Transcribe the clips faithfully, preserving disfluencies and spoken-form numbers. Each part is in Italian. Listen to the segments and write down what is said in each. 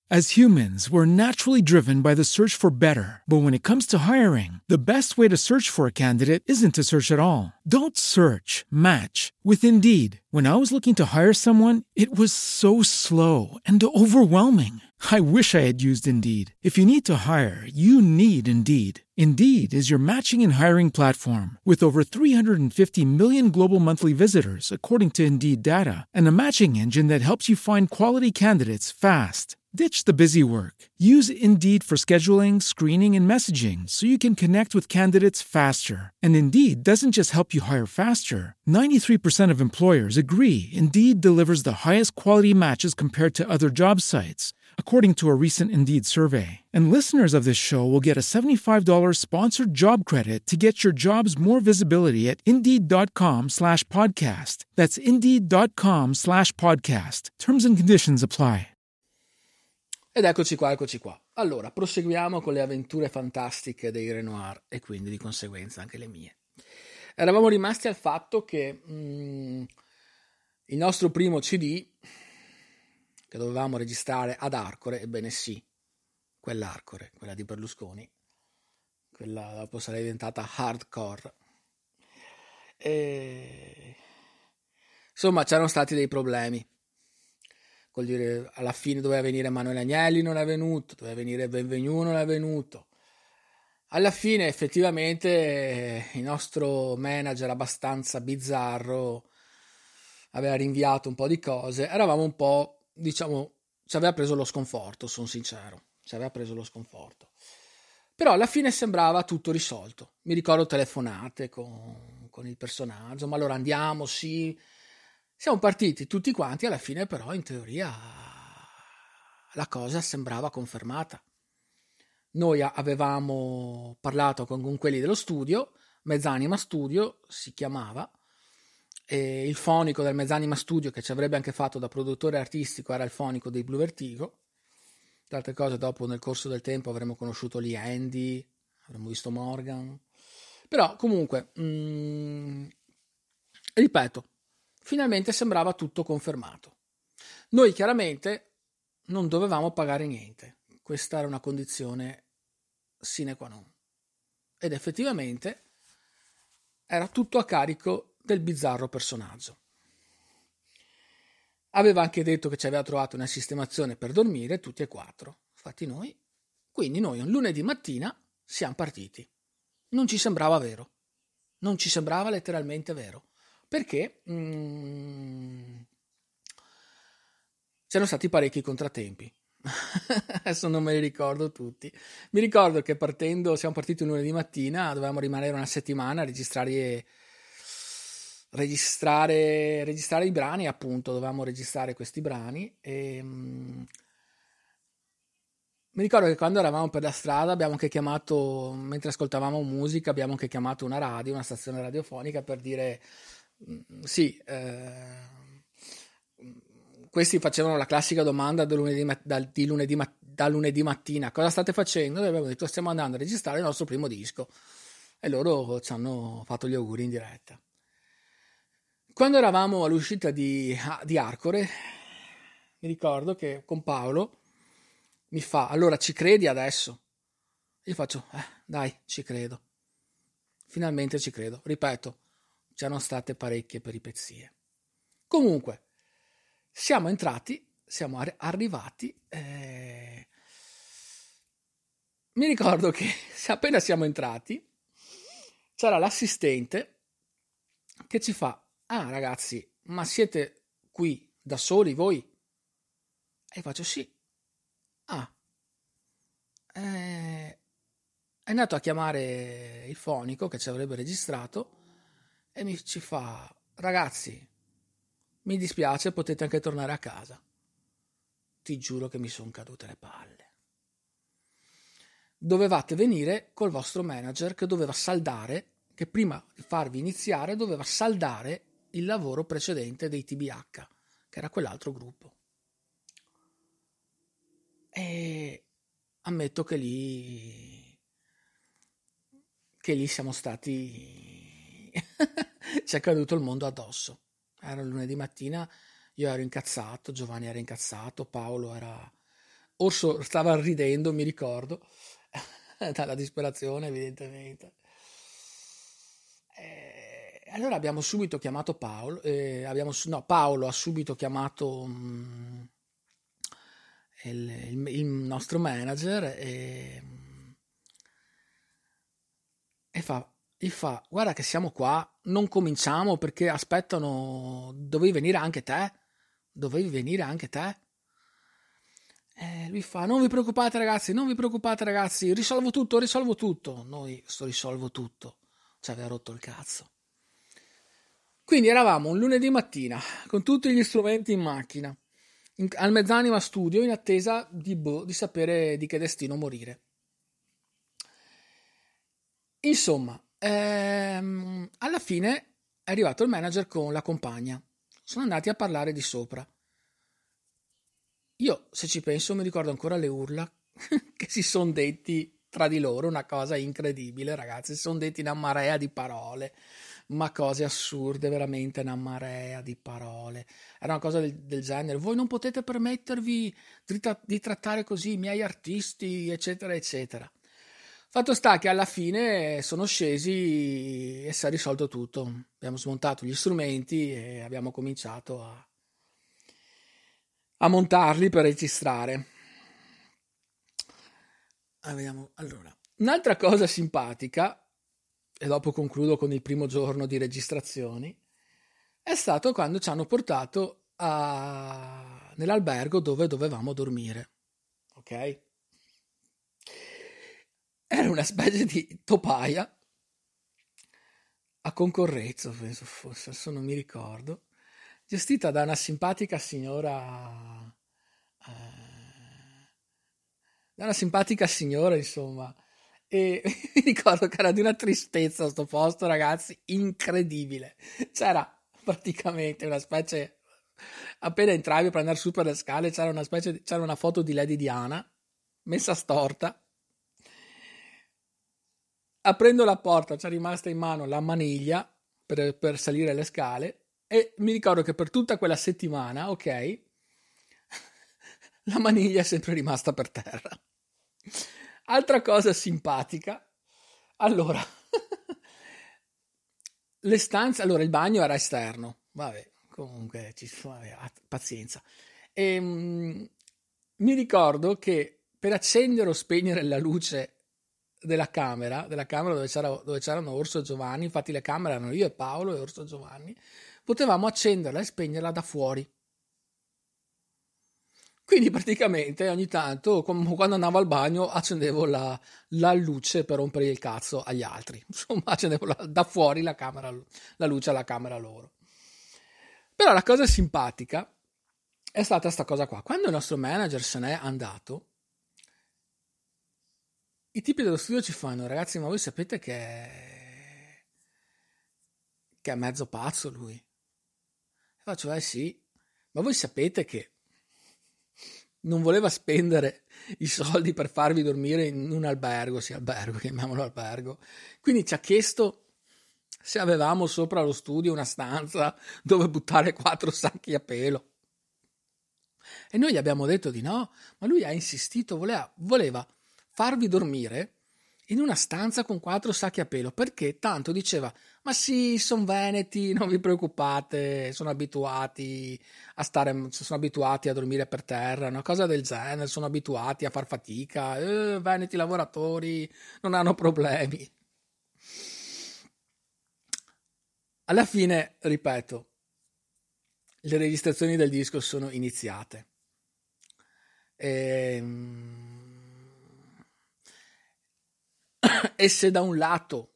As humans, we're naturally driven by the search for better. But when it comes to hiring, the best way to search for a candidate isn't to search at all. Don't search, match with Indeed. When I was looking to hire someone, it was so slow and overwhelming. I wish I had used Indeed. If you need to hire, you need Indeed. Indeed is your matching and hiring platform with over three hundred fifty million global monthly visitors, according to Indeed data, and a matching engine that helps you find quality candidates fast. Ditch the busy work. Use Indeed for scheduling, screening, and messaging so you can connect with candidates faster. And Indeed doesn't just help you hire faster. ninety-three percent of employers agree Indeed delivers the highest quality matches compared to other job sites, according to a recent Indeed survey. And listeners of this show will get a seventy-five dollars sponsored job credit to get your jobs more visibility at Indeed.com slash podcast. That's Indeed.com slash podcast. Terms and conditions apply. Ed eccoci qua, eccoci qua. Allora, proseguiamo con le avventure fantastiche dei Renoir e quindi di conseguenza anche le mie. Eravamo rimasti al fatto che mh, il nostro primo C D che dovevamo registrare ad Arcore, ebbene sì, quell'Arcore, quella di Berlusconi, quella dopo sarà diventata Hardcore. E... Insomma, c'erano stati dei problemi. Vuol dire, alla fine doveva venire Emanuele Agnelli, non è venuto, doveva venire Benvenu, non è venuto. Alla fine effettivamente il nostro manager abbastanza bizzarro aveva rinviato un po' di cose, eravamo un po', diciamo, ci aveva preso lo sconforto, sono sincero, ci aveva preso lo sconforto. Però alla fine sembrava tutto risolto. Mi ricordo telefonate con, con il personaggio, ma allora andiamo, sì... Siamo partiti tutti quanti, alla fine però in teoria la cosa sembrava confermata. Noi avevamo parlato con, con quelli dello studio, Mezzanima Studio si chiamava, e il fonico del Mezzanima Studio che ci avrebbe anche fatto da produttore artistico era il fonico dei Blue Vertigo. Tra altre cose dopo nel corso del tempo avremmo conosciuto lì Andy, avremmo visto Morgan, però comunque, mh, ripeto, finalmente sembrava tutto confermato. Noi chiaramente non dovevamo pagare niente. Questa era una condizione sine qua non. Ed effettivamente era tutto a carico del bizzarro personaggio. Aveva anche detto che ci aveva trovato una sistemazione per dormire tutti e quattro. Infatti noi, quindi noi un lunedì mattina siamo partiti. Non ci sembrava vero. Non ci sembrava letteralmente vero. Perché mm, c'erano stati parecchi contrattempi. Adesso non me li ricordo tutti. Mi ricordo che partendo, siamo partiti un lunedì mattina, dovevamo rimanere una settimana a registrare, registrare, registrare i brani, appunto, dovevamo registrare questi brani. E, mm, mi ricordo che quando eravamo per la strada abbiamo anche chiamato, mentre ascoltavamo musica, abbiamo anche chiamato una radio, una stazione radiofonica per dire... Sì, eh, questi facevano la classica domanda da lunedì, da, di lunedì, da lunedì mattina: cosa state facendo? E abbiamo detto: stiamo andando a registrare il nostro primo disco. E loro ci hanno fatto gli auguri in diretta. Quando eravamo all'uscita di, di Arcore, mi ricordo che con Paolo mi fa: allora ci credi adesso? Io faccio: eh, dai, ci credo. Finalmente ci credo. Ripeto, c'erano state parecchie peripezie. Comunque, siamo entrati, siamo ar- arrivati. Eh... Mi ricordo che appena siamo entrati, c'era l'assistente che ci fa: ah ragazzi, ma siete qui da soli voi? E faccio: sì. Ah, eh... è andato a chiamare il fonico che ci avrebbe registrato e mi ci fa: ragazzi, mi dispiace, potete anche tornare a casa. Ti giuro che mi sono cadute le palle. Dovevate venire col vostro manager che doveva saldare, che prima di farvi iniziare doveva saldare il lavoro precedente dei T B H, che era quell'altro gruppo. E ammetto che lì che lì siamo stati ci è caduto il mondo addosso. Era lunedì mattina, io ero incazzato, Giovanni era incazzato, Paolo era Orso stava ridendo, mi ricordo, dalla disperazione evidentemente. E allora abbiamo subito chiamato Paolo, eh, abbiamo, no, Paolo ha subito chiamato um, il, il, il nostro manager e, e fa, gli fa, guarda che siamo qua, non cominciamo perché aspettano, dovevi venire anche te, dovevi venire anche te. E lui fa, non vi preoccupate ragazzi, non vi preoccupate ragazzi, risolvo tutto, risolvo tutto. Noi, sto risolvo tutto, ci aveva rotto il cazzo. Quindi eravamo un lunedì mattina, con tutti gli strumenti in macchina, in, al Mezzanima Studio, in attesa di, boh, di sapere di che destino morire. Insomma, ehm, alla fine è arrivato il manager con la compagna. Sono andati a parlare di sopra. Io, se ci penso, mi ricordo ancora le urla che si sono detti tra di loro, una cosa incredibile, ragazzi. Si sono detti una marea di parole, ma cose assurde, veramente una marea di parole. Era una cosa del, del genere. Voi non potete permettervi di, tra- di trattare così i miei artisti, eccetera, eccetera. Fatto sta che alla fine sono scesi e si è risolto tutto. Abbiamo smontato gli strumenti e abbiamo cominciato a a montarli per registrare. Ah, vediamo. Allora, un'altra cosa simpatica, e dopo concludo con il primo giorno di registrazioni, è stato quando ci hanno portato a... nell'albergo dove dovevamo dormire. Ok? Era una specie di topaia a Concorrezzo, penso fosse, adesso non mi ricordo, gestita da una simpatica signora, eh, da una simpatica signora, insomma, e mi ricordo che era di una tristezza sto posto, ragazzi, incredibile. C'era praticamente una specie, appena entravi per andare su per le scale, c'era una specie, di, c'era una foto di Lady Diana messa storta. Aprendo la porta c'è rimasta in mano la maniglia per, per salire le scale. E mi ricordo che per tutta quella settimana, ok, la maniglia è sempre rimasta per terra. Altra cosa simpatica, allora, le stanze, allora il bagno era esterno, vabbè, comunque, ci, vabbè, pazienza. E, um, mi ricordo che per accendere o spegnere la luce della camera, della camera dove, c'era, dove c'erano Orso e Giovanni, infatti le camere erano io e Paolo e Orso e Giovanni, potevamo accenderla e spegnerla da fuori. Quindi praticamente ogni tanto, quando andavo al bagno, accendevo la, la luce per rompere il cazzo agli altri. Insomma, accendevo la, da fuori la, camera, la luce alla camera loro. Però la cosa simpatica è stata questa cosa qua. Quando il nostro manager se n'è andato, i tipi dello studio ci fanno, ragazzi, ma voi sapete che è, che è mezzo pazzo lui? E faccio, eh sì, ma voi sapete che non voleva spendere i soldi per farvi dormire in un albergo, sì, albergo, chiamiamolo albergo. Quindi ci ha chiesto se avevamo sopra lo studio una stanza dove buttare quattro sacchi a pelo. E noi gli abbiamo detto di no, ma lui ha insistito, voleva, voleva farvi dormire in una stanza con quattro sacchi a pelo, perché tanto diceva, ma sì, sono veneti, non vi preoccupate, sono abituati a stare, sono abituati a dormire per terra, una cosa del genere, sono abituati a far fatica, eh, veneti lavoratori non hanno problemi. Alla fine, ripeto, le registrazioni del disco sono iniziate. E... E se da un lato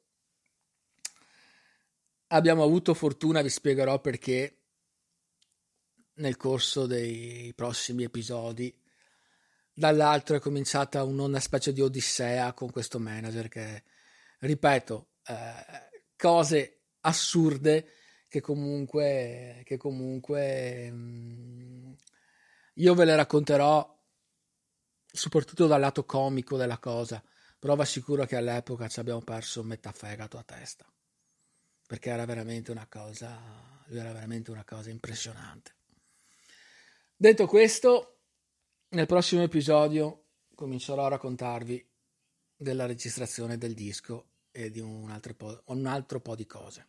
abbiamo avuto fortuna, vi spiegherò perché nel corso dei prossimi episodi, dall'altro è cominciata una specie di odissea con questo manager che, ripeto, eh, cose assurde che comunque, che comunque mh, io ve le racconterò soprattutto dal lato comico della cosa. Però vi assicuro che all'epoca ci abbiamo perso metà fegato a testa, perché era veramente una cosa, era veramente una cosa impressionante. Detto questo, nel prossimo episodio comincerò a raccontarvi della registrazione del disco e di un altro po', un altro po' di cose.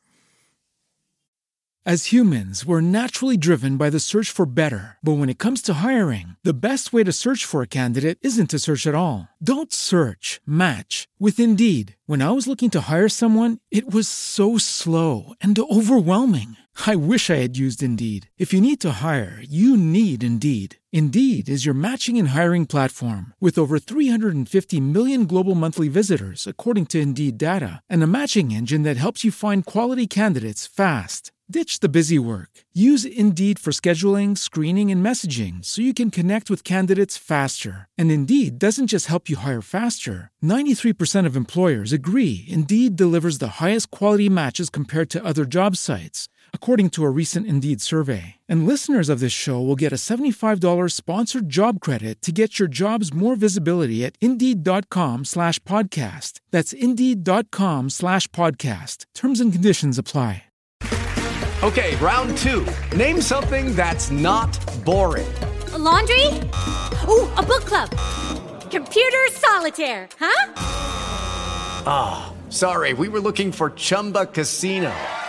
As humans, we're naturally driven by the search for better. But when it comes to hiring, the best way to search for a candidate isn't to search at all. Don't search, match with Indeed. When I was looking to hire someone, it was so slow and overwhelming. I wish I had used Indeed. If you need to hire, you need Indeed. Indeed is your matching and hiring platform with over three hundred fifty million global monthly visitors, according to Indeed data, and a matching engine that helps you find quality candidates fast. Ditch the busy work. Use Indeed for scheduling, screening, and messaging so you can connect with candidates faster. And Indeed doesn't just help you hire faster. ninety-three percent of employers agree Indeed delivers the highest quality matches compared to other job sites, according to a recent Indeed survey. And listeners of this show will get a seventy-five dollars sponsored job credit to get your jobs more visibility at Indeed.com slash podcast. That's Indeed.com slash podcast. Terms and conditions apply. Okay, round two. Name something that's not boring. A laundry? Ooh, a book club. Computer solitaire, huh? Ah, oh, sorry, we were looking for Chumba Casino.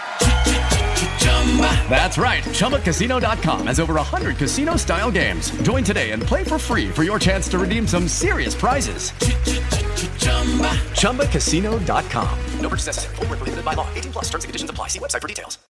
That's right, Chumba Casino dot com has over one hundred casino-style games. Join today and play for free for your chance to redeem some serious prizes. Chumba Casino dot com. No purchase necessary. Void where prohibited by law. eighteen plus terms and conditions apply. See website for details.